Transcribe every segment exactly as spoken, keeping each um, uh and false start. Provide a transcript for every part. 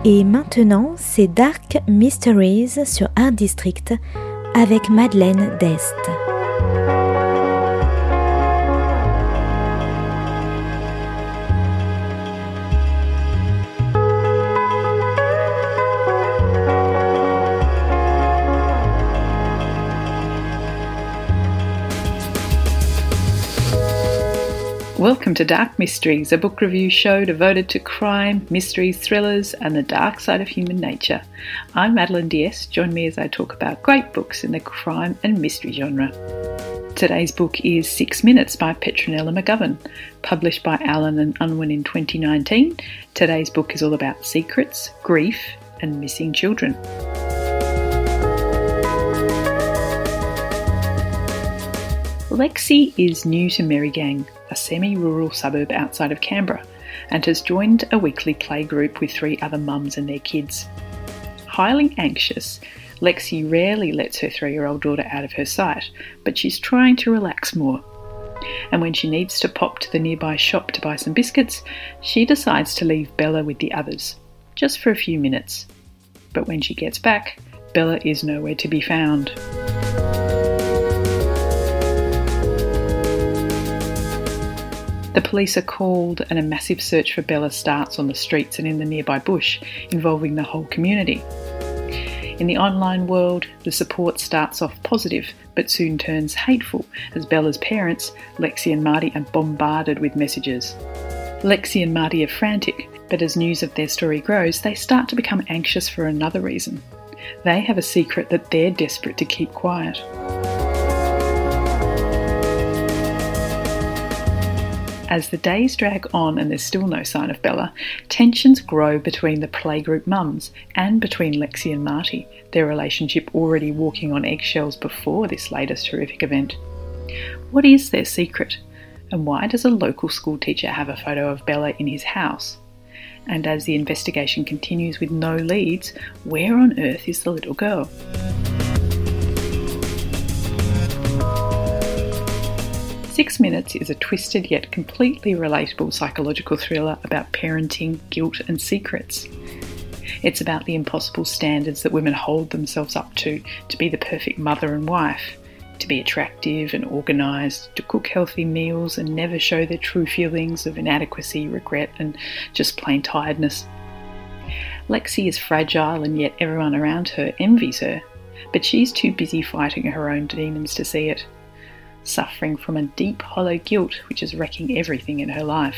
Et maintenant, c'est Dark Mysteries sur Art District avec Madeleine Dest. Welcome to Dark Mysteries, a book review show devoted to crime, mysteries, thrillers, and the dark side of human nature. I'm Madeleine Diest. Join me as I talk about great books in the crime and mystery genre. Today's book is Six Minutes by Petronella McGovern, published by Allen and Unwin in twenty nineteen. Today's book is all about secrets, grief, and missing children. Lexi is new to Merrygang, a semi-rural suburb outside of Canberra, and has joined a weekly play group with three other mums and their kids. Highly anxious, Lexi rarely lets her three-year-old daughter out of her sight, but she's trying to relax more. And when she needs to pop to the nearby shop to buy some biscuits, she decides to leave Bella with the others, just for a few minutes. But when she gets back, Bella is nowhere to be found. The police are called and a massive search for Bella starts on the streets and in the nearby bush, involving the whole community. In the online world, the support starts off positive, but soon turns hateful as Bella's parents, Lexi and Marty, are bombarded with messages. Lexi and Marty are frantic, but as news of their story grows, they start to become anxious for another reason. They have a secret that they're desperate to keep quiet. As the days drag on and there's still no sign of Bella, tensions grow between the playgroup mums and between Lexi and Marty, their relationship already walking on eggshells before this latest horrific event. What is their secret? And why does a local school teacher have a photo of Bella in his house? And as the investigation continues with no leads, where on earth is the little girl? Six Minutes is a twisted yet completely relatable psychological thriller about parenting, guilt and secrets. It's about the impossible standards that women hold themselves up to, to be the perfect mother and wife, to be attractive and organised, to cook healthy meals and never show their true feelings of inadequacy, regret and just plain tiredness. Lexi is fragile and yet everyone around her envies her, but she's too busy fighting her own demons to see it, suffering from a deep, hollow guilt which is wrecking everything in her life.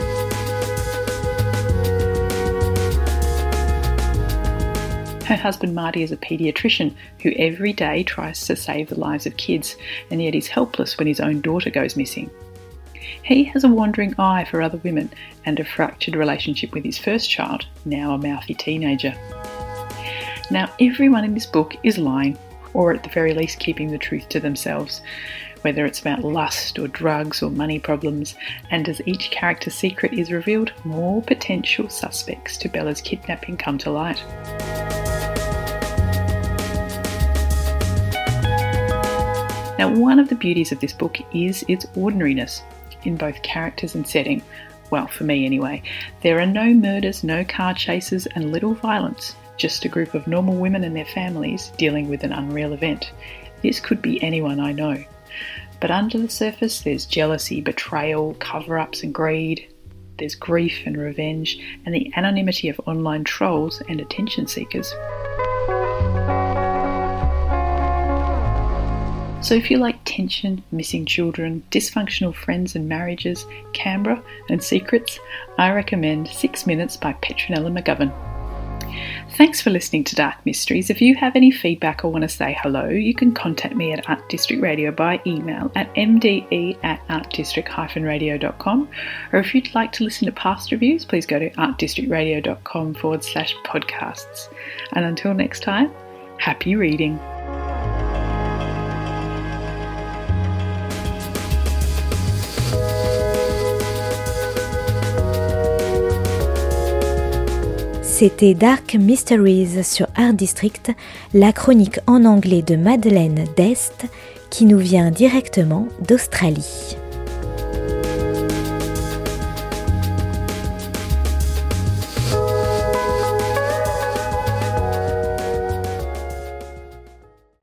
Her husband Marty is a paediatrician who every day tries to save the lives of kids, and yet is helpless when his own daughter goes missing. He has a wandering eye for other women and a fractured relationship with his first child, now a mouthy teenager. Now, everyone in this book is lying, or at the very least keeping the truth to themselves, whether it's about lust or drugs or money problems, and as each character's secret is revealed, more potential suspects to Bella's kidnapping come to light. Now, one of the beauties of this book is its ordinariness in both characters and setting. Well, for me anyway. There are no murders, no car chases, and little violence. Just a group of normal women and their families dealing with an unreal event. This could be anyone I know. But under the surface, there's jealousy, betrayal, cover-ups and greed. There's grief and revenge, and the anonymity of online trolls and attention seekers. So if you like tension, missing children, dysfunctional friends and marriages, Canberra and secrets, I recommend Six Minutes by Petronella McGovern. Thanks for listening to Dark Mysteries. If you have any feedback or want to say hello, you can contact me at Art District Radio by email at m d e at art district dash radio dot com, or if you'd like to listen to past reviews, please go to artdistrictradio.com forward slash podcasts. And until next time, happy reading. C'était Dark Mysteries sur Art District, la chronique en anglais de Madeleine Dest qui nous vient directement d'Australie.